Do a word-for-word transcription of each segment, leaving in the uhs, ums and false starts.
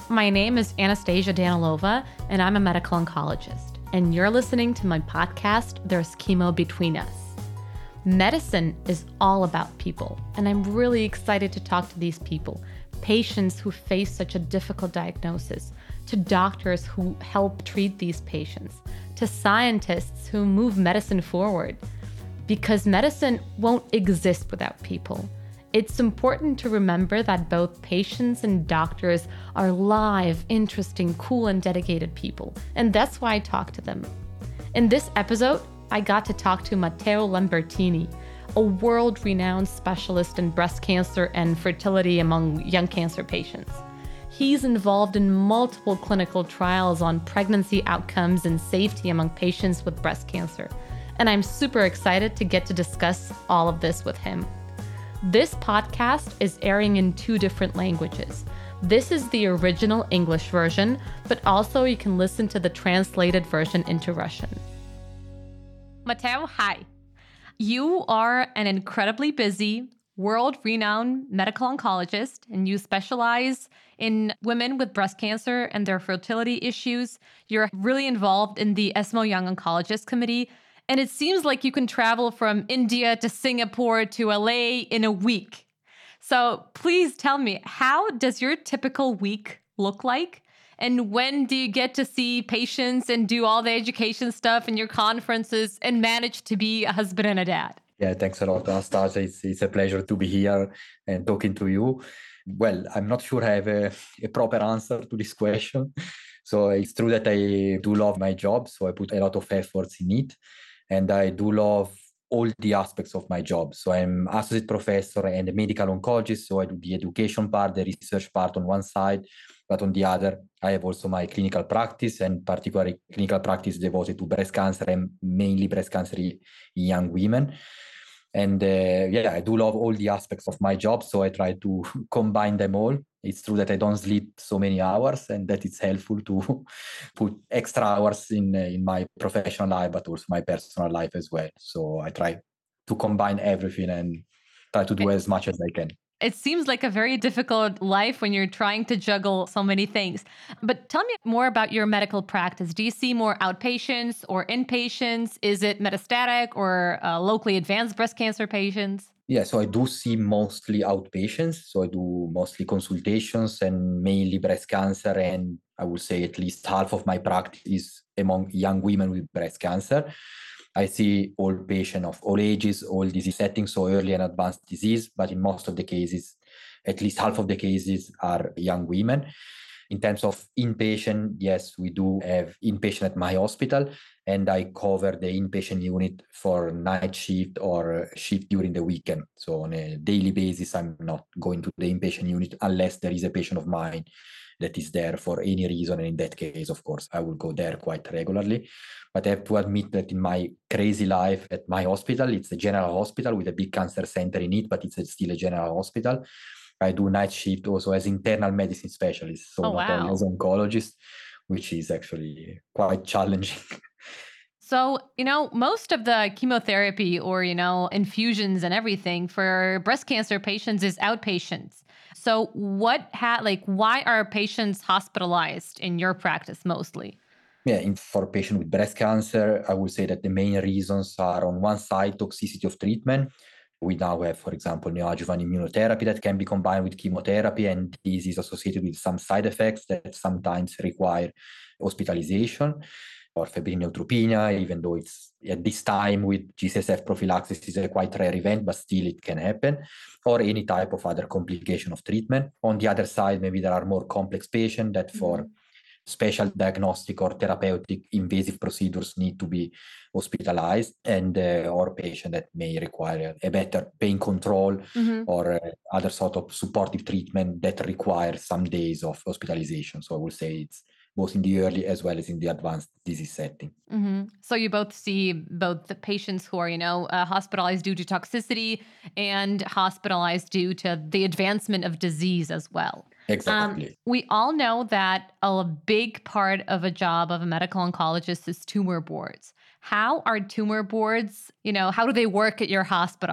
My name is Anastasia Danilova, and I'm a medical oncologist. And you're listening to my podcast, There's Chemo Between Us. Medicine is all about people, and I'm really excited to talk to these people, patients who face such a difficult diagnosis, to doctors who help treat these patients, to scientists who move medicine forward. Because medicine won't exist without people. It's important to remember that both patients and doctors are live, interesting, cool, and dedicated people, and that's why I talk to them. In this episode, I got to talk to Matteo Lambertini, a world-renowned specialist in breast cancer and fertility among young cancer patients. He's involved in multiple clinical trials on pregnancy outcomes and safety among patients with breast cancer, and I'm super excited to get to discuss all of this with him. This podcast is airing in two different languages. This is the original English version, but also you can listen to the translated version into Russian. Matteo, hi. You are an incredibly busy, world-renowned medical oncologist, and you specialize in women with breast cancer and their fertility issues. You're really involved in the ESMO Young Oncologist Committee. And it seems like you can travel from India to Singapore to L A in a week. So please tell me, how does your typical week look like? And when do you get to see patients and do all the education stuff and your conferences and manage to be a husband and a dad? Yeah, thanks a lot, Anastasia. It's, it's a pleasure to be here and talking to you. Well, I'm not sure I have a, a proper answer to this question. So it's true that I do love my job, so I put a lot of efforts in it. And I do love all the aspects of my job. So I'm associate professor and a medical oncologist. So I do the education part, the research part on one side, but on the other, I have also my clinical practice, and particularly clinical practice devoted to breast cancer and mainly breast cancer in young women. And uh, yeah, I do love all the aspects of my job. So I try to combine them all. It's true that I don't sleep so many hours, and that it's helpful to put extra hours in, uh, in my professional life, but also my personal life as well. So I try to combine everything and try to do as much as I can. It seems like a very difficult life when you're trying to juggle so many things. But tell me more about your medical practice. Do you see more outpatients or inpatients? Is it metastatic or uh, locally advanced breast cancer patients? Yeah, so I do see mostly outpatients. So I do mostly consultations and mainly breast cancer. And I would say at least half of my practice is among young women with breast cancer. I see all patients of all ages, all disease settings, so early and advanced disease, but in most of the cases, at least half of the cases are young women. In terms of inpatient, yes, we do have inpatient at my hospital, and I cover the inpatient unit for night shift or shift during the weekend. So on a daily basis, I'm not going to the inpatient unit unless there is a patient of mine that is there for any reason. And in that case, of course, I will go there quite regularly. But I have to admit that in my crazy life at my hospital, it's a general hospital with a big cancer center in it, but it's still a general hospital. I do night shift also as internal medicine specialist, so Oh, not wow. only as oncologist, which is actually quite challenging. So, you know, most of the chemotherapy or, you know, infusions and everything for breast cancer patients is outpatients. So what ha- like, why are patients hospitalized in your practice mostly? Yeah, in, for patients with breast cancer, I would say that the main reasons are on one side, toxicity of treatment. We now have, for example, neoadjuvant immunotherapy that can be combined with chemotherapy, and this is associated with some side effects that sometimes require hospitalization, or febrile neutropenia, even though it's at this time with G C S F prophylaxis is a quite rare event, but still it can happen, or any type of other complication of treatment. On the other side, maybe there are more complex patients that for mm-hmm. special diagnostic or therapeutic invasive procedures need to be hospitalized, and uh, or patient that may require a better pain control mm-hmm. or uh, other sort of supportive treatment that requires some days of hospitalization. So I would say it's both in the early as well as in the advanced disease setting. Mm-hmm. So you both see both the patients who are, you know, uh, hospitalized due to toxicity and hospitalized due to the advancement of disease as well. Exactly. Um, we all know that a big part of a job of a medical oncologist is tumor boards. How are tumor boards, you know, how do they work at your hospital?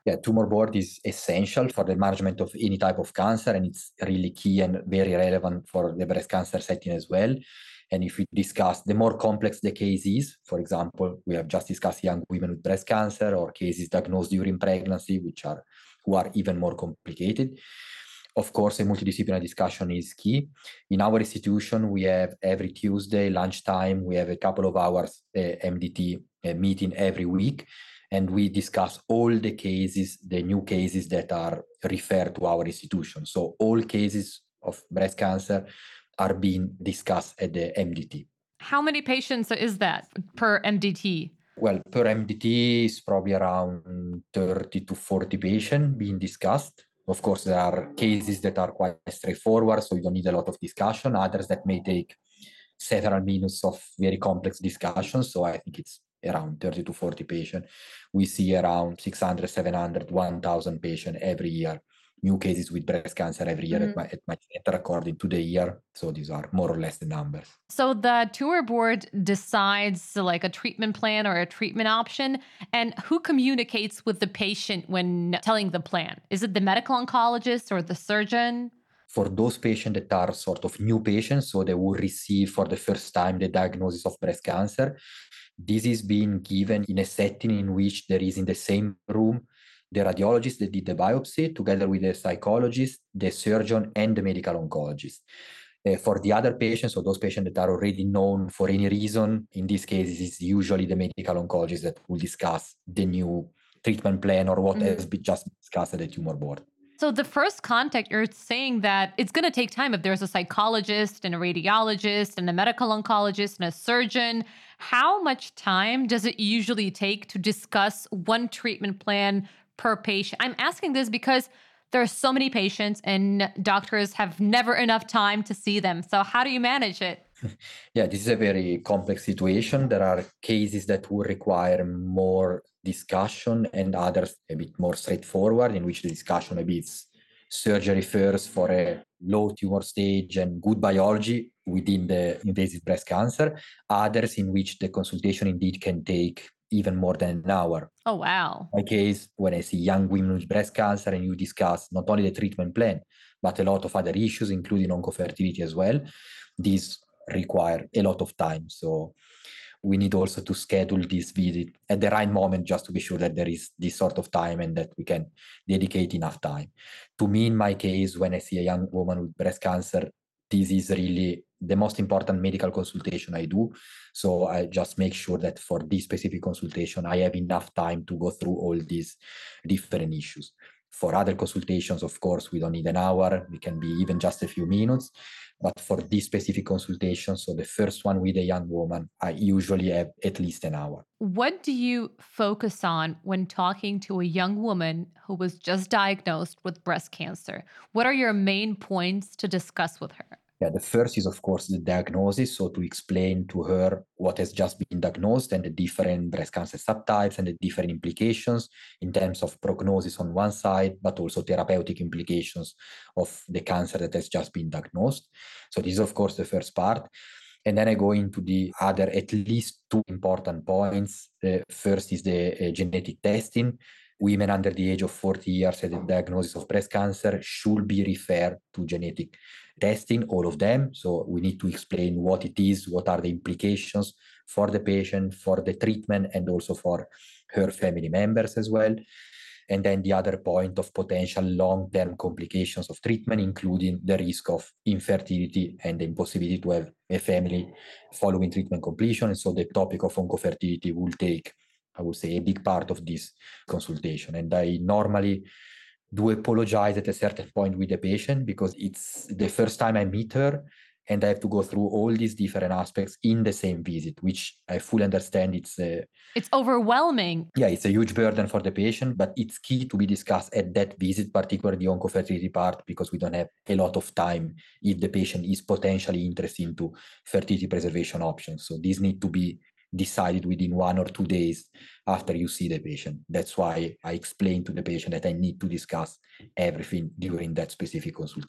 Yeah, tumor board is essential for the management of any type of cancer, and it's really key and very relevant for the breast cancer setting as well. And if we discuss the more complex the case is, for example, we have just discussed young women with breast cancer or cases diagnosed during pregnancy, which are who are even more complicated. Of course, a multidisciplinary discussion is key. In our institution, we have every Tuesday lunchtime, we have a couple of hours uh, M D T uh, meeting every week, and we discuss all the cases, the new cases that are referred to our institution. So all cases of breast cancer are being discussed at the M D T. How many patients is that per M D T? Well, per M D T is probably around thirty to forty patients being discussed. Of course, there are cases that are quite straightforward, so you don't need a lot of discussion. Others that may take several minutes of very complex discussions. So I think it's around thirty to forty patients. We see around six hundred, seven hundred, one thousand patients every year. New cases with breast cancer every year mm-hmm. at, my, at my center according to the year. So these are more or less the numbers. So the tumor board decides like a treatment plan or a treatment option. And who communicates with the patient when telling the plan? Is it the medical oncologist or the surgeon? For those patients that are sort of new patients, so they will receive for the first time the diagnosis of breast cancer, this is being given in a setting in which there is in the same room the radiologist that did the biopsy, together with the psychologist, the surgeon, and the medical oncologist. Uh, for the other patients, or those patients that are already known for any reason, in this case, it's usually the medical oncologist that will discuss the new treatment plan or what mm-hmm. has been just discussed at the tumor board. So the first contact, you're saying that it's going to take time if there's a psychologist and a radiologist and a medical oncologist and a surgeon. How much time does it usually take to discuss one treatment plan per patient? I'm asking this because there are so many patients and doctors have never enough time to see them. So how do you manage it? Yeah, this is a very complex situation. There are cases that will require more discussion and others a bit more straightforward, in which the discussion maybe it's surgery first for a low tumor stage and good biology within the invasive breast cancer. Others in which the consultation indeed can take even more than an hour. Oh, wow. In my case, when I see young women with breast cancer and you discuss not only the treatment plan, but a lot of other issues, including oncofertility as well, these require a lot of time. So we need also to schedule this visit at the right moment just to be sure that there is this sort of time and that we can dedicate enough time. To me, in my case, when I see a young woman with breast cancer, this is really the most important medical consultation I do. So I just make sure that for this specific consultation, I have enough time to go through all these different issues. For other consultations, of course, we don't need an hour. We can be even just a few minutes. But for this specific consultation, so the first one with a young woman, I usually have at least an hour. What do you focus on when talking to a young woman who was just diagnosed with breast cancer? What are your main points to discuss with her? Yeah, the first is, of course, the diagnosis. So to explain to her what has just been diagnosed and the different breast cancer subtypes and the different implications in terms of prognosis on one side, but also therapeutic implications of the cancer that has just been diagnosed. So this is, of course, the first part. And then I go into the other, at least two important points. The first is the uh, genetic testing. Women under the age of forty years at the diagnosis of breast cancer should be referred to genetic testing, all of them. So we need to explain what it is, what are the implications for the patient, for the treatment, and also for her family members as well. And then the other point of potential long-term complications of treatment, including the risk of infertility and the impossibility to have a family following treatment completion. And so the topic of oncofertility will take, I would say, a big part of this consultation. And I normally do apologize at a certain point with the patient because it's the first time I meet her and I have to go through all these different aspects in the same visit, which I fully understand. It's a, it's overwhelming. Yeah, it's a huge burden for the patient, but it's key to be discussed at that visit, particularly the oncofertility part, because we don't have a lot of time if the patient is potentially interested into fertility preservation options. So these need to be decided within one or two days after you see the patient. That's why I explain to the patient that I need to discuss everything during that specific consultation.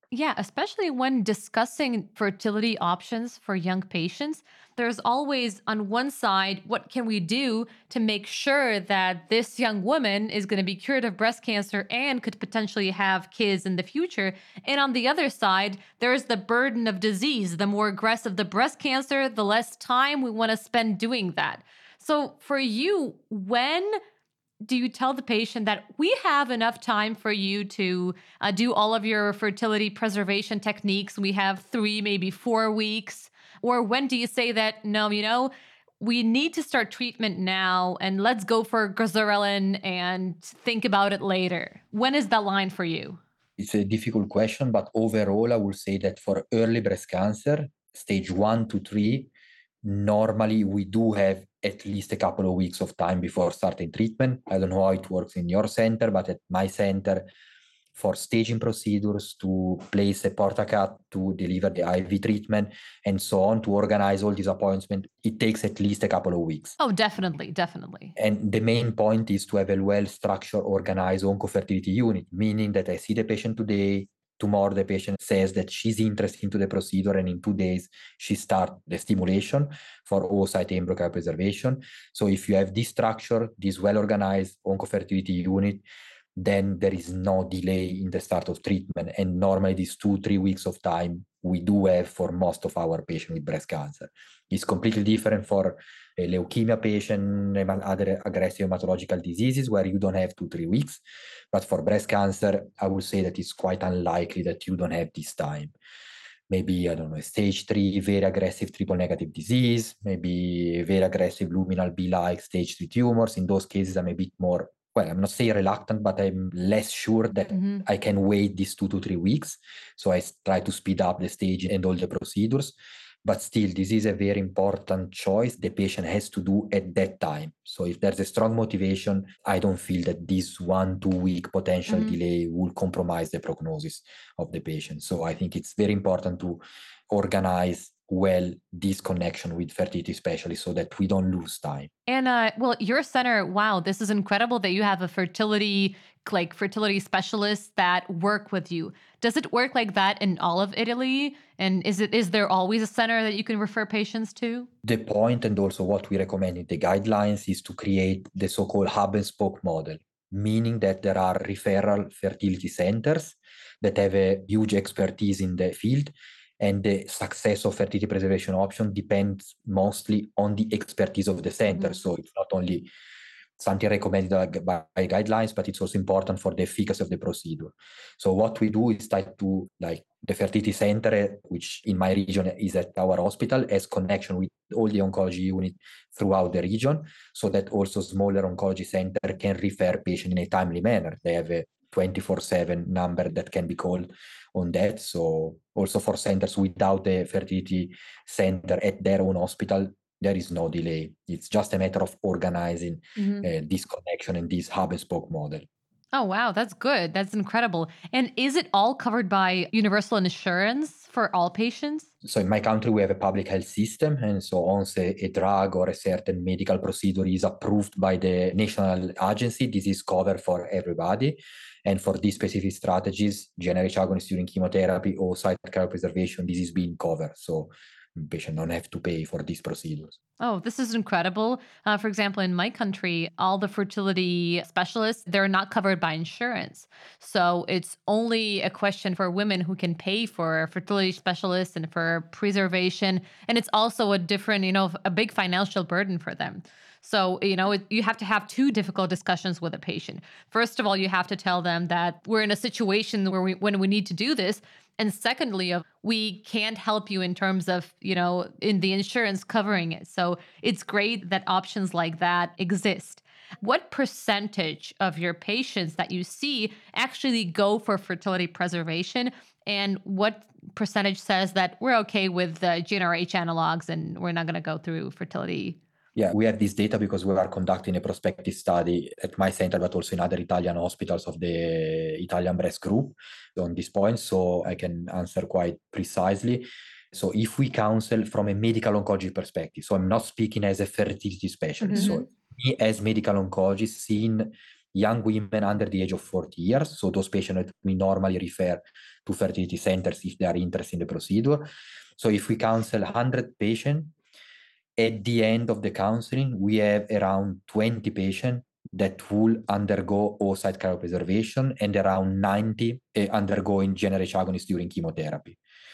Yeah, especially when discussing fertility options for young patients, there's always on one side, what can we do to make sure that this young woman is going to be cured of breast cancer and could potentially have kids in the future? And on the other side, there's the burden of disease. The more aggressive the breast cancer, the less time we want to spend doing that. So for you, when do you tell the patient that we have enough time for you to uh, do all of your fertility preservation techniques? We have three, maybe four weeks. Or when do you say that, no, you know, we need to start treatment now and let's go for Goserelin and think about it later? When is that line for you? It's a difficult question, but overall, I would say that for early breast cancer, stage one to three, normally we do have at least a couple of weeks of time before starting treatment. I don't know how it works in your center, but at my center, for staging procedures, to place a portacut, to deliver the I V treatment, and so on, to organize all these appointments, it takes at least a couple of weeks. Oh, definitely, definitely. And the main point is to have a well-structured, organized oncofertility unit, meaning that I see the patient today, tomorrow the patient says that she's interested into the procedure, and in two days she starts the stimulation for oocyte embryo cryopreservation. So if you have this structure, this well-organized oncofertility unit, then there is no delay in the start of treatment. And normally these two, three weeks of time we do have for most of our patients with breast cancer. It's completely different for a leukemia patient and other aggressive hematological diseases where you don't have two, three weeks. But for breast cancer, I would say that it's quite unlikely that you don't have this time. Maybe, I don't know, stage three, very aggressive triple negative disease, maybe very aggressive luminal B-like stage three tumors. In those cases, I'm a bit more, well, I'm not saying reluctant, but I'm less sure that mm-hmm. I can wait these two to three weeks. So I try to speed up the stage and all the procedures. But still, this is a very important choice the patient has to do at that time. So if there's a strong motivation, I don't feel that this one, two week potential mm-hmm. delay will compromise the prognosis of the patient. So I think it's very important to organize well this connection with fertility specialists so that we don't lose time. And uh, well, your center, wow, this is incredible that you have a fertility like fertility specialists that work with you. Does it work like that in all of Italy? And is it is there always a center that you can refer patients to? The point, and also what we recommend in the guidelines, is to create the so-called hub and spoke model, meaning that there are referral fertility centers that have a huge expertise in the field. And the success of fertility preservation option depends mostly on the expertise of the center. Mm-hmm. So it's not only something recommended by guidelines, but it's also important for the efficacy of the procedure. So what we do is try to, like the fertility center, which in my region is at our hospital, has connection with all the oncology unit throughout the region, so that also smaller oncology center can refer patient in a timely manner. They have a twenty-four seven number that can be called on that. So also for centers without a fertility center at their own hospital, there is no delay. It's just a matter of organizing mm-hmm. uh, this connection and this hub and spoke model. Oh, wow. That's good. That's incredible. And is it all covered by universal insurance for all patients? So in my country, we have a public health system. And so once a, a drug or a certain medical procedure is approved by the national agency, this is covered for everybody. And for these specific strategies, G n R H agonist during chemotherapy or oocyte cryopreservation, this is being covered. So patient don't have to pay for these procedures. Oh, this is incredible. Uh, for example, in my country, all the fertility specialists, they're not covered by insurance. So it's only a question for women who can pay for fertility specialists and for preservation. And it's also a different, you know, a big financial burden for them. So, you know, you have to have two difficult discussions with a patient. First of all, you have to tell them that we're in a situation where we, when we need to do this. And secondly, we can't help you in terms of, you know, in the insurance covering it. So it's great that options like that exist. What percentage of your patients that you see actually go for fertility preservation? And what percentage says that we're okay with the G n R H analogs and we're not going to go through fertility? Yeah, we have this data because we are conducting a prospective study at my center, but also in other Italian hospitals of the Italian Breast Group on this point, so I can answer quite precisely. So if we counsel from a medical oncology perspective, so I'm not speaking as a fertility specialist, mm-hmm. so me as medical oncologist, seeing young women under the age of forty years. So those patients that we normally refer to fertility centers if they are interested in the procedure. So if we counsel one hundred patients, at the end of the counseling, we have around twenty patients that will undergo oocyte cryopreservation and around ninety uh, undergoing G n R H agonists during chemotherapy.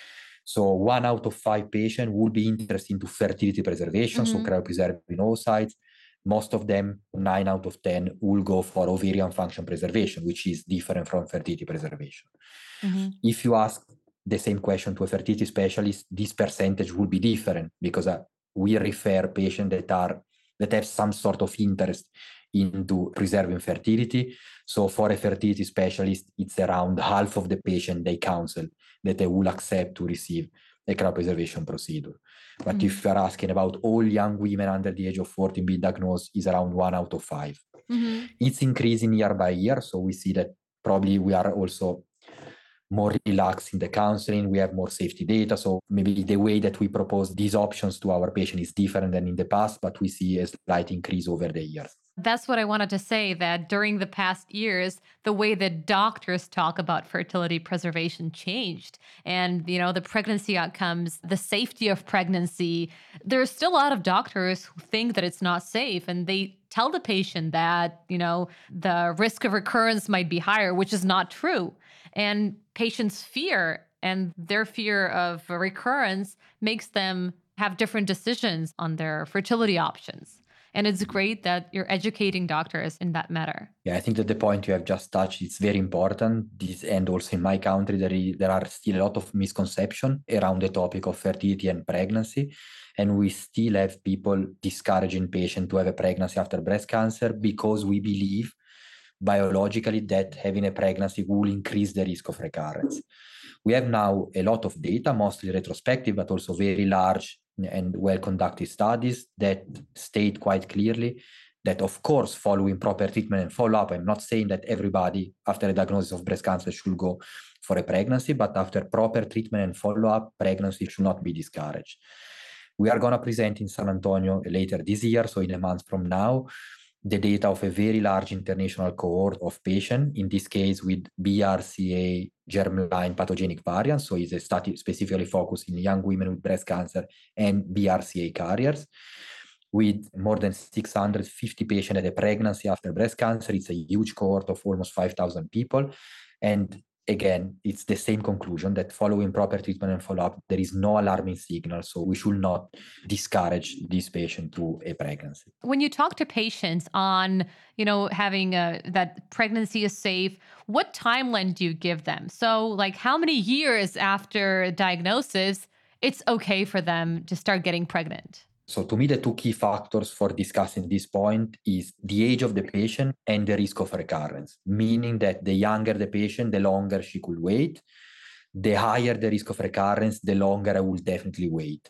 So one out of five patients will be interested into fertility preservation, mm-hmm. so cryopreserving oocytes. Most of them, nine out of ten, will go for ovarian function preservation, which is different from fertility preservation. Mm-hmm. If you ask the same question to a fertility specialist, this percentage will be different because uh, we refer patients that are that have some sort of interest into preserving fertility. So for a fertility specialist, it's around half of the patient they counsel that they will accept to receive a cryopreservation procedure. But mm-hmm. if you're asking about all young women under the age of forty being diagnosed, is around one out of five. Mm-hmm. It's increasing year by year. So we see that probably we are also more relaxed in the counseling, we have more safety data. So maybe the way that we propose these options to our patient is different than in the past, but we see a slight increase over the years. That's what I wanted to say, that during the past years, the way that doctors talk about fertility preservation changed. And, you know, the pregnancy outcomes, the safety of pregnancy, there's still a lot of doctors who think that it's not safe, and they tell the patient that, you know, the risk of recurrence might be higher, which is not true. And patients' fear and their fear of recurrence makes them have different decisions on their fertility options. And it's great that you're educating doctors in that matter. Yeah, I think that the point you have just touched is very important. This, and also in my country, there, is, there are still a lot of misconception around the topic of fertility and pregnancy. And we still have people discouraging patients to have a pregnancy after breast cancer because we believe biologically that having a pregnancy will increase the risk of recurrence. We have now a lot of data, mostly retrospective, but also very large and well-conducted studies that state quite clearly that, of course, following proper treatment and follow-up, I'm not saying that everybody after a diagnosis of breast cancer should go for a pregnancy, but after proper treatment and follow-up, pregnancy should not be discouraged. We are going to present in San Antonio later this year, so in a month from now, the data of a very large international cohort of patients, in this case with B R C A germline pathogenic variants. So it's a study specifically focused in young women with breast cancer and B R C A carriers, with more than six hundred fifty patients at a pregnancy after breast cancer. It's a huge cohort of almost five thousand people. And again, it's the same conclusion that following proper treatment and follow-up, there is no alarming signal. So we should not discourage this patient to a pregnancy. When you talk to patients on, you know, having a, that pregnancy is safe, what timeline do you give them? So like how many years after diagnosis, it's okay for them to start getting pregnant? So to me, the two key factors for discussing this point is the age of the patient and the risk of recurrence, meaning that the younger the patient, the longer she could wait. The higher the risk of recurrence, the longer I will definitely wait.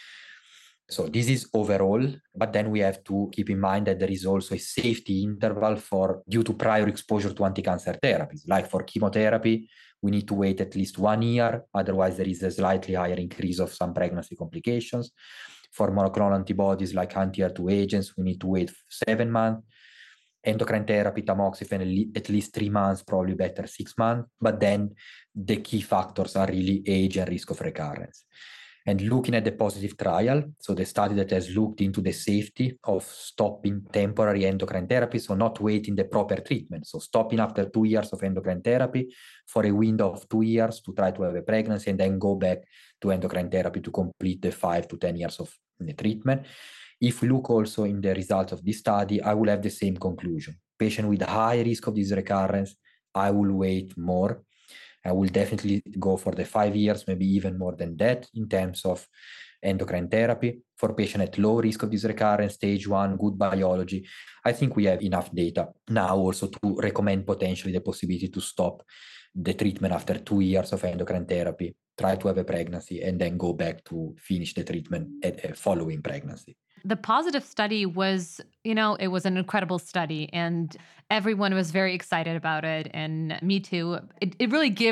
So this is overall, but then we have to keep in mind that there is also a safety interval for due to prior exposure to anti-cancer therapies. Like for chemotherapy, we need to wait at least one year. Otherwise, there is a slightly higher increase of some pregnancy complications. For monoclonal antibodies like anti H E R two agents, we need to wait seven months. Endocrine therapy, tamoxifen, at least three months, probably better six months. But then the key factors are really age and risk of recurrence. And looking at the positive trial, so the study that has looked into the safety of stopping temporary endocrine therapy, so not waiting the proper treatment, so stopping after two years of endocrine therapy for a window of two years to try to have a pregnancy and then go back to endocrine therapy to complete the five to ten years of the treatment. If we look also in the results of this study, I will have the same conclusion. Patient with high risk of this recurrence, I will wait more. I will definitely go for the five years, maybe even more than that in terms of endocrine therapy. For patient at low risk of this recurrence, stage one, good biology, I think we have enough data now also to recommend potentially the possibility to stop the treatment after two years of endocrine therapy, try to have a pregnancy, and then go back to finish the treatment at, uh, following pregnancy. The positive study was, you know, it was an incredible study and everyone was very excited about it. And me too. It, it really gives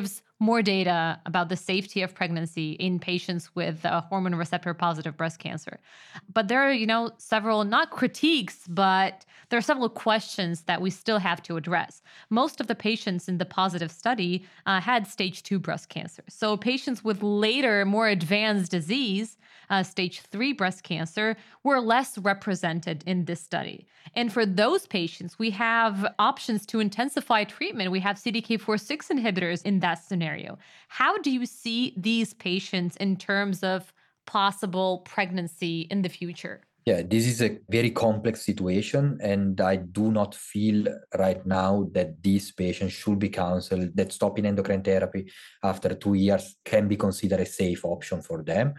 more data about the safety of pregnancy in patients with uh, hormone receptor positive breast cancer. But there are, you know, several, not critiques, but there are several questions that we still have to address. Most of the patients in the positive study uh, had stage two breast cancer. So patients with later, more advanced disease, uh, stage three breast cancer, were less represented in this study. And for those patients, we have options to intensify treatment. We have C D K four six inhibitors in that scenario. How do you see these patients in terms of possible pregnancy in the future? Yeah, this is a very complex situation, and I do not feel right now that these patients should be counseled, that stopping endocrine therapy after two years can be considered a safe option for them.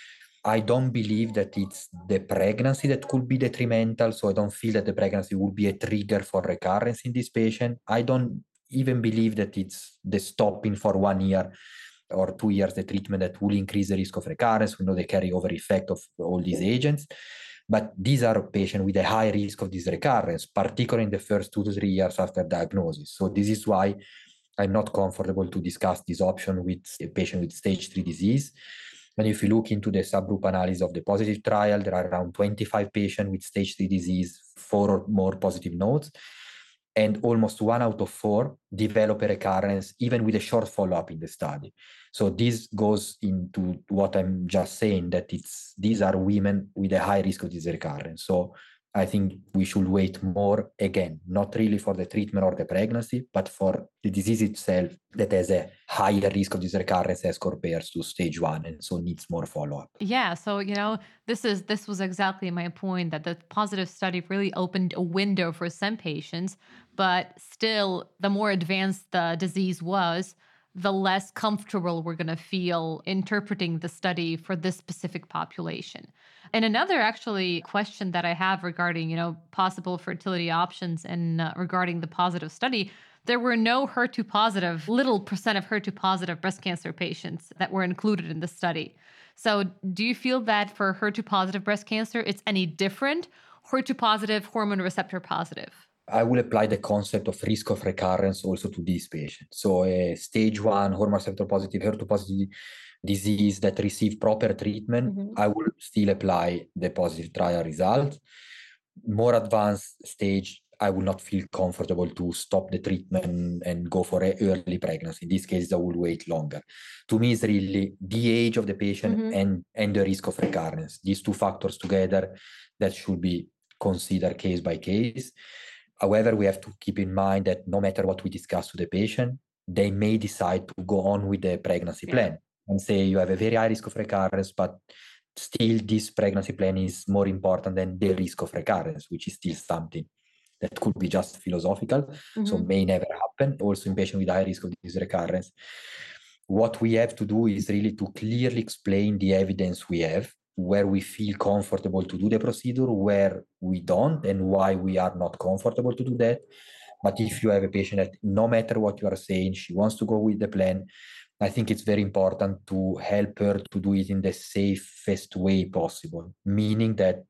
I don't believe that it's the pregnancy that could be detrimental, so I don't feel that the pregnancy would be a trigger for recurrence in this patient. I don't even believe that it's the stopping for one year or two years the treatment that will increase the risk of recurrence. We know the carryover effect of all these agents. But these are patients with a high risk of this recurrence, particularly in the first two to three years after diagnosis. So this is why I'm not comfortable to discuss this option with a patient with stage three disease. And if you look into the subgroup analysis of the positive trial, there are around twenty-five patients with stage three disease, four or more positive nodes. And almost one out of four develop a recurrence, even with a short follow-up in the study. So this goes into what I'm just saying, that it's these are women with a high risk of this recurrence. So I think we should wait more, again, not really for the treatment or the pregnancy, but for the disease itself that has a higher risk of this recurrence as compared to stage one, and so needs more follow-up. Yeah, so you know, this is this was exactly my point, that the positive study really opened a window for some patients, but still, the more advanced the disease was, the less comfortable we're going to feel interpreting the study for this specific population. And another actually question that I have regarding, you know, possible fertility options and uh, regarding the positive study, there were no H E R two positive, little percent of H E R two positive breast cancer patients that were included in the study. So do you feel that for H E R two positive breast cancer, it's any different? H E R two positive, hormone receptor positive? I will apply the concept of risk of recurrence also to these patients. So a stage one hormone receptor positive, H E R two positive disease that receive proper treatment, mm-hmm. I will still apply the positive trial result. More advanced stage, I will not feel comfortable to stop the treatment and go for an early pregnancy. In this case, I will wait longer. To me, it's really the age of the patient mm-hmm. and, and the risk of recurrence. These two factors together that should be considered case by case. However, we have to keep in mind that no matter what we discuss with the patient, they may decide to go on with the pregnancy yeah. plan and say you have a very high risk of recurrence, but still this pregnancy plan is more important than the risk of recurrence, which is still something that could be just philosophical, mm-hmm. so may never happen, also in patients with high risk of this recurrence. What we have to do is really to clearly explain the evidence we have, where we feel comfortable to do the procedure, where we don't, and why we are not comfortable to do that. But if you have a patient that no matter what you are saying, she wants to go with the plan, I think it's very important to help her to do it in the safest way possible, meaning that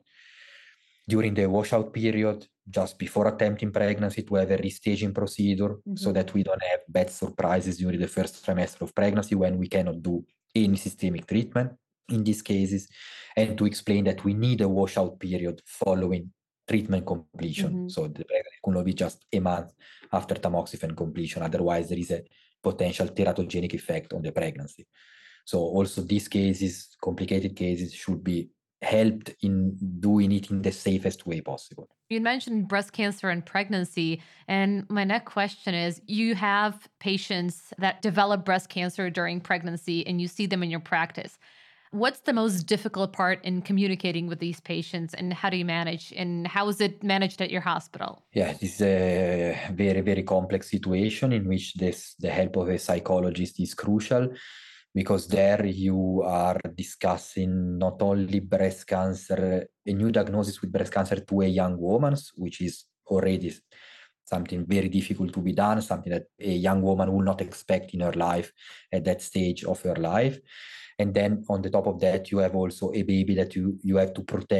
during the washout period, just before attempting pregnancy, to have a restaging procedure mm-hmm. so that we don't have bad surprises during the first trimester of pregnancy when we cannot do any systemic treatment in these cases, and to explain that we need a washout period following treatment completion. Mm-hmm. So the pregnancy could not be just a month after tamoxifen completion. Otherwise, there is a potential teratogenic effect on the pregnancy. So also these cases, complicated cases, should be helped in doing it in the safest way possible. You mentioned breast cancer and pregnancy, and my next question is, you have patients that develop breast cancer during pregnancy and you see them in your practice. What's the most difficult part in communicating with these patients, and how do you manage, and how is it managed at your hospital? Yeah, this is a very, very complex situation in which this, the help of a psychologist is crucial, because there you are discussing not only breast cancer, a new diagnosis with breast cancer to a young woman, which is already something very difficult to be done, something that a young woman will not expect in her life at that stage of her life. And then on the top of that, you have also a baby that you, you have to protect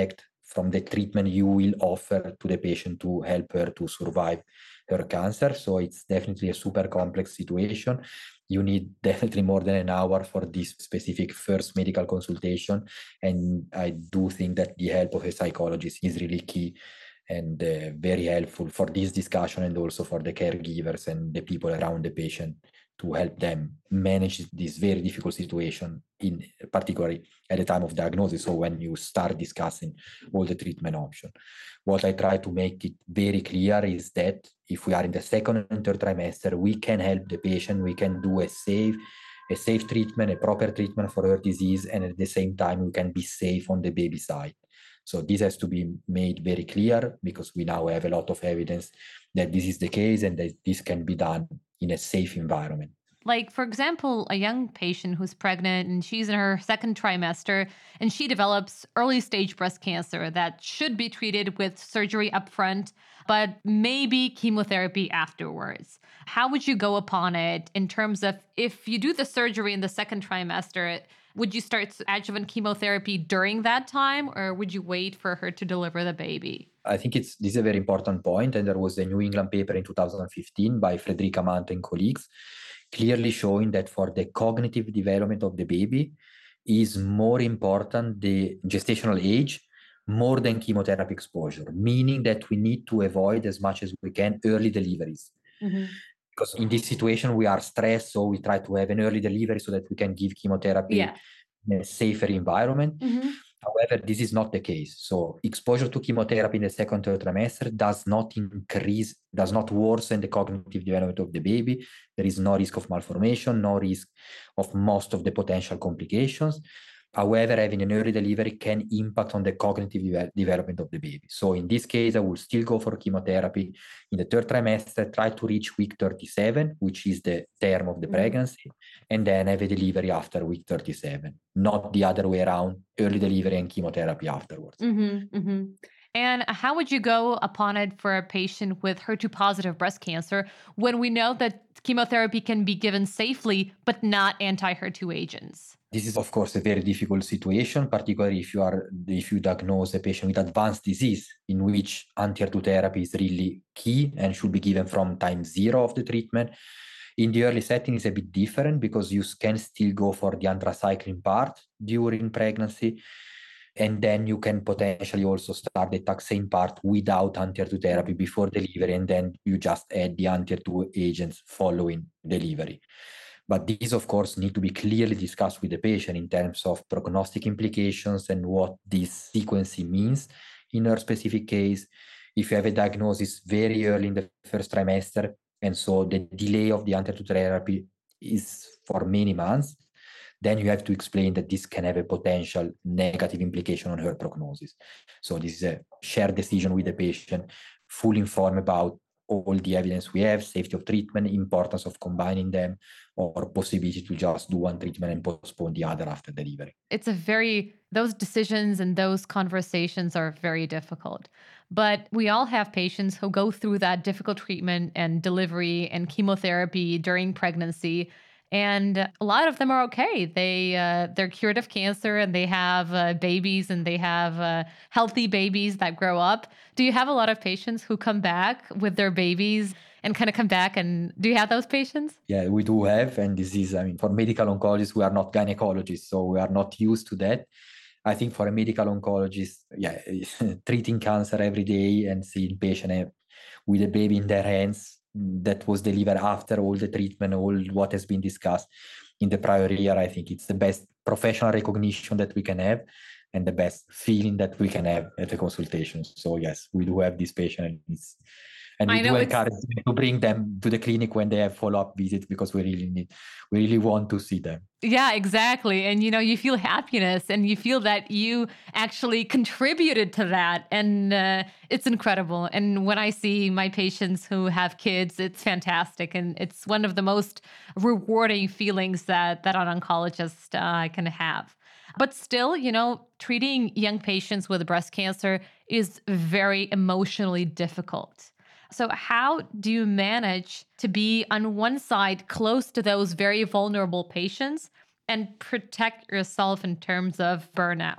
from the treatment you will offer to the patient to help her to survive her cancer. So it's definitely a super complex situation. You need definitely more than an hour for this specific first medical consultation. And I do think that the help of a psychologist is really key and uh, very helpful for this discussion, and also for the caregivers and the people around the patient to help them manage this very difficult situation, in particularly at the time of diagnosis. So when you start discussing all the treatment options, what I try to make it very clear is that if we are in the second and third trimester, we can help the patient, we can do a safe, a safe treatment, a proper treatment for her disease, and at the same time, we can be safe on the baby side. So this has to be made very clear, because we now have a lot of evidence that this is the case and that this can be done in a safe environment. Like, for example, a young patient who's pregnant and she's in her second trimester and she develops early stage breast cancer that should be treated with surgery upfront, but maybe chemotherapy afterwards. How would you go upon it in terms of, if you do the surgery in the second trimester, would you start adjuvant chemotherapy during that time, or would you wait for her to deliver the baby? I think it's this is a very important point, and there was a New England paper in two thousand fifteen by Frederica Mant and colleagues, clearly showing that for the cognitive development of the baby is more important the gestational age more than chemotherapy exposure, meaning that we need to avoid as much as we can early deliveries. Mm-hmm. Because in this situation, we are stressed, so we try to have an early delivery so that we can give chemotherapy yeah. in a safer environment. Mm-hmm. However, this is not the case. So exposure to chemotherapy in the second, third trimester does not increase, does not worsen the cognitive development of the baby. There is no risk of malformation, no risk of most of the potential complications. However, having an early delivery can impact on the cognitive de- development of the baby. So in this case, I will still go for chemotherapy in the third trimester, try to reach week thirty-seven, which is the term of the mm-hmm. pregnancy, and then have a delivery after week thirty-seven, not the other way around, early delivery and chemotherapy afterwards. Mm-hmm, mm-hmm. And how would you go upon it for a patient with H E R two positive breast cancer when we know that chemotherapy can be given safely, but not anti-H E R two agents? This is, of course, a very difficult situation, particularly if you are if you diagnose a patient with advanced disease, in which anti-H E R two therapy is really key and should be given from time zero of the treatment. In the early setting, it's a bit different because you can still go for the anthracycline part during pregnancy, and then you can potentially also start the taxane part without anti-H E R two therapy before delivery, and then you just add the anti-H E R two agents following delivery. But these, of course, need to be clearly discussed with the patient in terms of prognostic implications and what this sequencing means in her specific case. If you have a diagnosis very early in the first trimester, and so the delay of the anti-H E R two therapy is for many months, then you have to explain that this can have a potential negative implication on her prognosis. So this is a shared decision with the patient, fully informed about all the evidence we have, safety of treatment, importance of combining them, or possibility to just do one treatment and postpone the other after delivery. It's a very, those decisions and those conversations are very difficult. But we all have patients who go through that difficult treatment and delivery and chemotherapy during pregnancy. And a lot of them are okay. They, uh, they're cured of cancer, and they have uh, babies, and they have uh, healthy babies that grow up. Do you have a lot of patients who come back with their babies and kind of come back? And do you have those patients? Yeah, we do have. And this is, I mean, for medical oncologists, we are not gynecologists, so we are not used to that. I think for a medical oncologist, yeah, treating cancer every day and seeing patient with a baby in their hands that was delivered after all the treatment, all what has been discussed in the prior year, I think it's the best professional recognition that we can have and the best feeling that we can have at the consultation. So yes, we do have this patient, and it's And we do encourage them to bring them to the clinic when they have follow-up visits, because we really need, we really want to see them. Yeah, exactly. And, you know, you feel happiness and you feel that you actually contributed to that. And uh, it's incredible. And when I see my patients who have kids, it's fantastic. And it's one of the most rewarding feelings that, that an oncologist uh, can have. But still, you know, treating young patients with breast cancer is very emotionally difficult. So how do you manage to be on one side close to those very vulnerable patients and protect yourself in terms of burnout?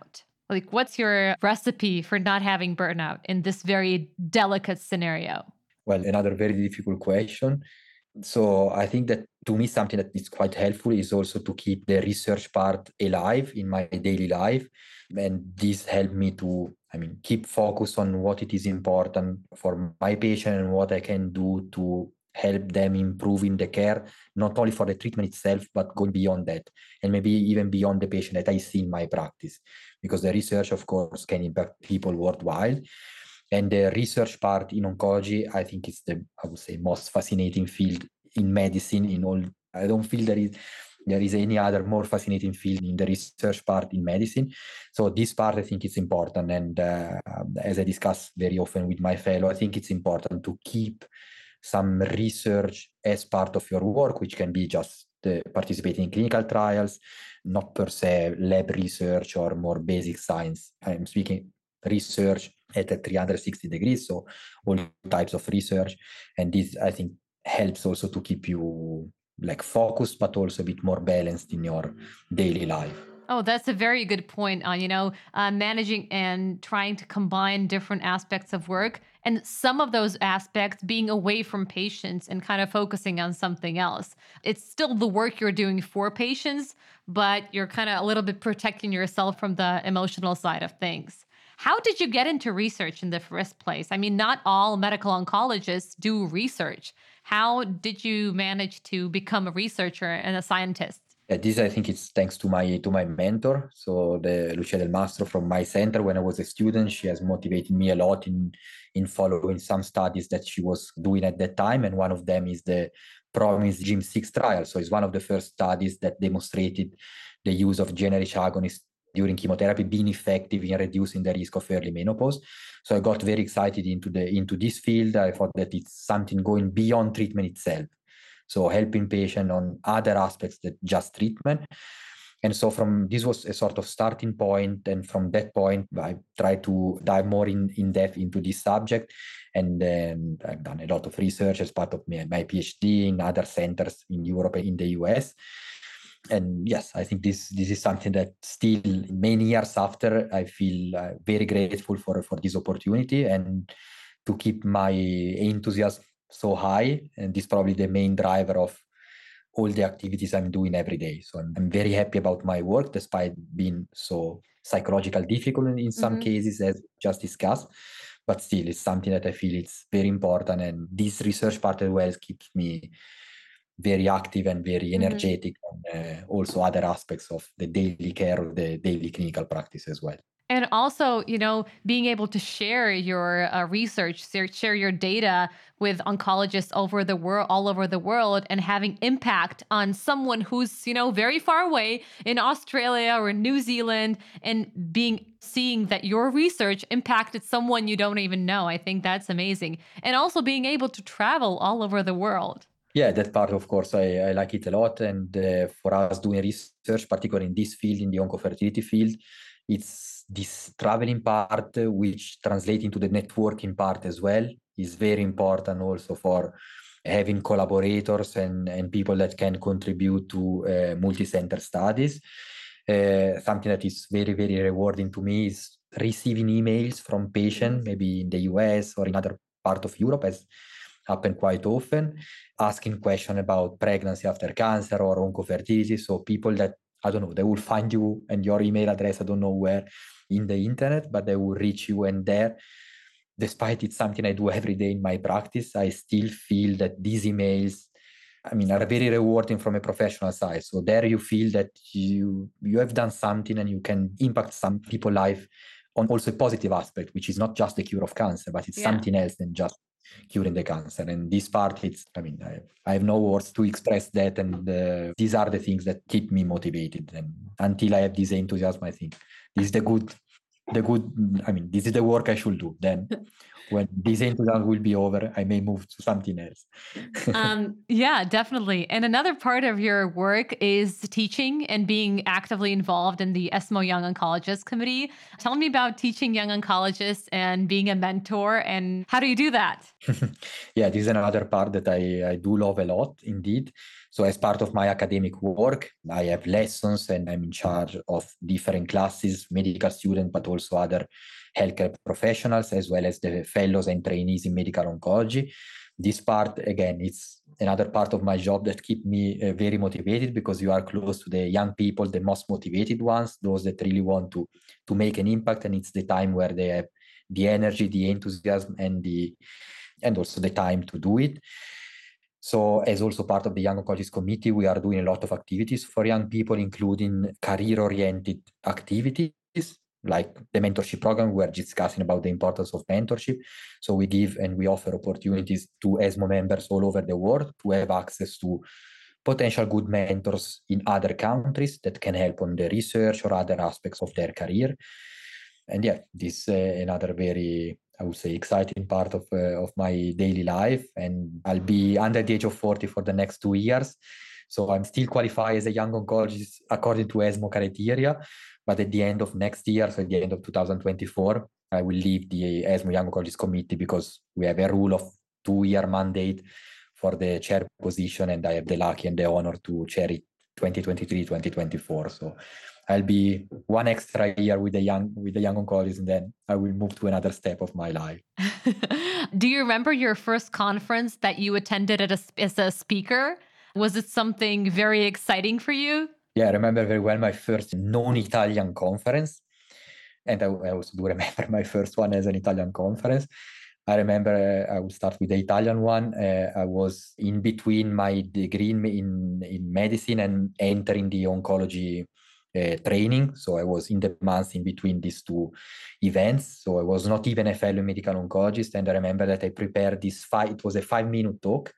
Like, what's your recipe for not having burnout in this very delicate scenario? Well, another very difficult question. So I think that to me, something that is quite helpful is also to keep the research part alive in my daily life. And this helped me to, I mean, keep focus on what it is important for my patient and what I can do to help them improving the care, not only for the treatment itself, but going beyond that, and maybe even beyond the patient that I see in my practice. Because the research, of course, can impact people worldwide. And the research part in oncology, I think is the, I would say, most fascinating field in medicine. In all, I don't feel there is there is any other more fascinating field in the research part in medicine. So this part, I think, is important. And uh, as I discuss very often with my fellow, I think it's important to keep some research as part of your work, which can be just uh, participating in clinical trials, not per se lab research or more basic science. I'm speaking research at a three hundred sixty degrees, so all types of research. And this, I think, helps also to keep you like focused, but also a bit more balanced in your daily life. Oh, that's a very good point on, you know, uh, managing and trying to combine different aspects of work, and some of those aspects being away from patients and kind of focusing on something else. It's still the work you're doing for patients, but you're kind of a little bit protecting yourself from the emotional side of things. How did you get into research in the first place? I mean, not all medical oncologists do research. How did you manage to become a researcher and a scientist? Yeah, this I think it's thanks to my to my mentor. So the Lucia Del Mastro from my center when I was a student, she has motivated me a lot in in following some studies that she was doing at that time. And one of them is the PROMISE G I M six trial. So it's one of the first studies that demonstrated the use of generic agonists during chemotherapy being effective in reducing the risk of early menopause. So I got very excited into the into this field. I thought that it's something going beyond treatment itself. So helping patient on other aspects than just treatment. And so from this was a sort of starting point. And from that point, I tried to dive more in, in depth into this subject. And then I've done a lot of research as part of my, my PhD in other centers in Europe and in the U S. And yes, I think this this is something that still many years after, I feel uh, very grateful for, for this opportunity and to keep my enthusiasm so high. And this is probably the main driver of all the activities I'm doing every day. So I'm, I'm very happy about my work, despite being so psychological difficult in, in some Mm-hmm. cases, as just discussed. But still, it's something that I feel it's very important. And this research part as well keeps me very active and very energetic, mm-hmm. and uh, also other aspects of the daily care of the daily clinical practice as well. And also, you know, being able to share your uh, research, share your data with oncologists over the world, all over the world, and having impact on someone who's, you know, very far away in Australia or New Zealand, and being seeing that your research impacted someone you don't even know. I think that's amazing. And also being able to travel all over the world. Yeah, that part, of course, I, I like it a lot. And uh, for us doing research, particularly in this field, in the oncofertility field, it's this traveling part, uh, which translates into the networking part as well, is very important also for having collaborators and, and people that can contribute to uh, multi-center studies. Uh, something that is very, very rewarding to me is receiving emails from patients, maybe in the U S or in other part of Europe, as happen quite often, asking questions about pregnancy after cancer or oncofertility. So people that, I don't know, they will find you and your email address, I don't know where, in the internet, but they will reach you. And there, despite it's something I do every day in my practice, I still feel that these emails, I mean, are very rewarding from a professional side. So there you feel that you you have done something and you can impact some people's life on also a positive aspect, which is not just the cure of cancer, but it's yeah. something else than just curing the cancer. And this part, it's, I mean, I, I have no words to express that. And uh, these are the things that keep me motivated. And until I have this enthusiasm, I think this is the good, the good, I mean, this is the work I should do. Then when this enthusiasm will be over, I may move to something else. um, yeah, definitely. And another part of your work is teaching and being actively involved in the ESMO Young Oncologists Committee. Tell me about teaching young oncologists and being a mentor, and how do you do that? Yeah, this is another part that I, I do love a lot, indeed. So as part of my academic work, I have lessons and I'm in charge of different classes, medical students, but also other healthcare professionals, as well as the fellows and trainees in medical oncology. This part, again, it's another part of my job that keep me uh, very motivated, because you are close to the young people, the most motivated ones, those that really want to, to make an impact. And it's the time where they have the energy, the enthusiasm, and the and also the time to do it. So as also part of the Young Oncologist Committee, we are doing a lot of activities for young people, including career-oriented activities, like the mentorship program. We're discussing about the importance of mentorship. So we give and we offer opportunities to ESMO members all over the world to have access to potential good mentors in other countries that can help on the research or other aspects of their career. And yeah, this is uh, another very, I would say, exciting part of uh, of my daily life. And I'll be under the age of forty for the next two years. So I'm still qualified as a young oncologist according to ESMO criteria. But at the end of next year, so at the end of two thousand twenty-four, I will leave the ESMO Young Oncologist Committee, because we have a rule of two-year mandate for the chair position. And I have the lucky and the honor to chair it twenty twenty-three, twenty twenty-four. So I'll be one extra year with the young with the young oncologists, and then I will move to another step of my life. Do you remember your first conference that you attended as a, as a speaker? Was it something very exciting for you? Yeah, I remember very well my first non-Italian conference. And I, I also do remember my first one as an Italian conference. I remember uh, I will start with the Italian one. Uh, I was in between my degree in, in, in medicine and entering the oncology Uh, training. So I was in the months in between these two events. So I was not even a fellow medical oncologist. And I remember that I prepared this five, it was a five minute talk.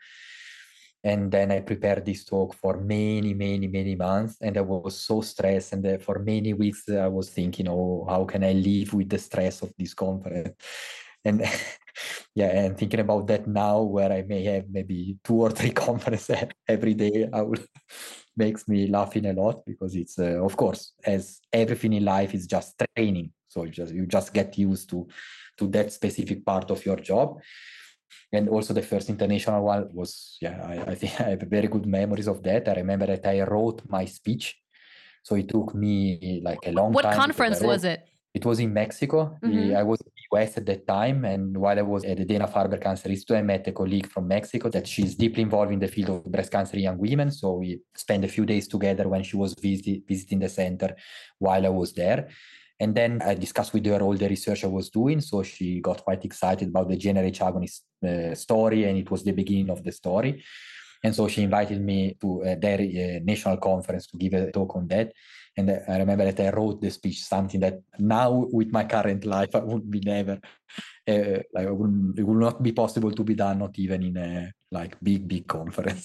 And then I prepared this talk for many, many, many months. And I was so stressed. And uh, for many weeks, uh, I was thinking, oh, how can I live with the stress of this conference? And yeah, and thinking about that now, where I may have maybe two or three conferences every day, I will makes me laughing a lot, because it's uh, of course, as everything in life is just training. So you just you just get used to to that specific part of your job. And also the first international one was, yeah, I, I think I have very good memories of that. I remember that I wrote my speech. So it took me like a long what time. What conference was it? It was in Mexico. Mm-hmm. I was in the U S at that time. And while I was at the Dana-Farber Cancer Institute, I met a colleague from Mexico that she's deeply involved in the field of breast cancer in young women. So we spent a few days together when she was visit, visiting the center while I was there. And then I discussed with her all the research I was doing. So she got quite excited about the G n R H agonist uh, story. And it was the beginning of the story. And so she invited me to uh, their uh, national conference to give a talk on that. And I remember that I wrote the speech, something that now with my current life, I would be never, uh, like, it would, it would not be possible to be done, not even in a like big, big conference.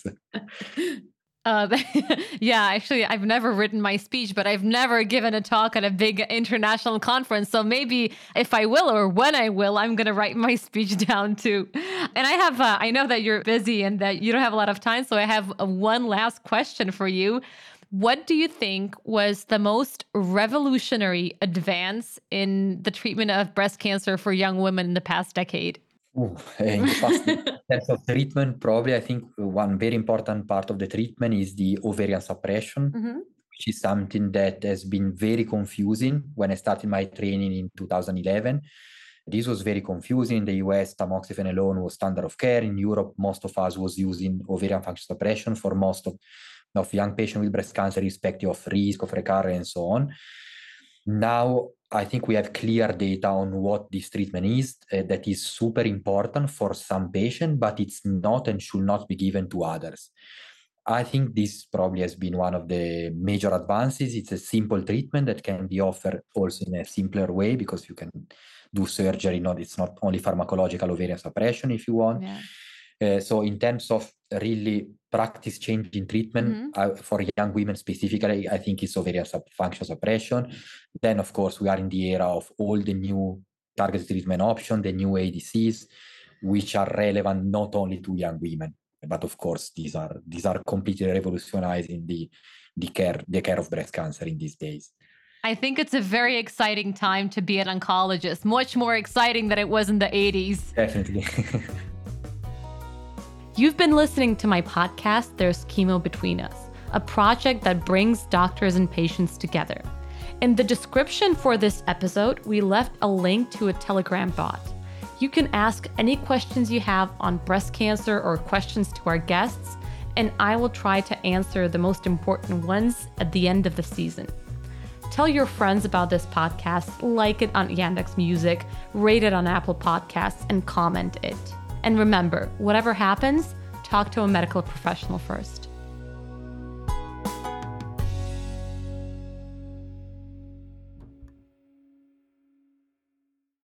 Uh, yeah, actually, I've never written my speech, but I've never given a talk at a big international conference. So maybe if I will, or when I will, I'm going to write my speech down too. And I have, uh, I know that you're busy and that you don't have a lot of time. So I have uh, one last question for you. What do you think was the most revolutionary advance in the treatment of breast cancer for young women in the past decade? Ooh, in the past, in terms of treatment, probably I think one very important part of the treatment is the ovarian suppression, mm-hmm. which is something that has been very confusing when I started my training in two thousand eleven. This was very confusing. In the U S, tamoxifen alone was standard of care. In Europe, most of us was using ovarian function suppression for most of of young patients with breast cancer, irrespective of risk of recurrence and so on. Now, I think we have clear data on what this treatment is, uh, that is super important for some patients, but it's not and should not be given to others. I think this probably has been one of the major advances. It's a simple treatment that can be offered also in a simpler way, because you can do surgery. Not, it's not only pharmacological ovarian suppression if you want. Yeah. Uh, so in terms of really practice changing treatment, mm-hmm. uh, for young women specifically, I think it's ovarian sub- function suppression. Then, of course, we are in the era of all the new targeted treatment options, the new A D Cs, which are relevant not only to young women, but of course, these are these are completely revolutionizing the the care the care of breast cancer in these days. I think it's a very exciting time to be an oncologist, much more exciting than it was in the eighties. Definitely. You've been listening to my podcast, There's Chemo Between Us, a project that brings doctors and patients together. In the description for this episode, we left a link to a Telegram bot. You can ask any questions you have on breast cancer or questions to our guests, and I will try to answer the most important ones at the end of the season. Tell your friends about this podcast, like it on Yandex Music, rate it on Apple Podcasts, and comment it. And remember, whatever happens, talk to a medical professional first.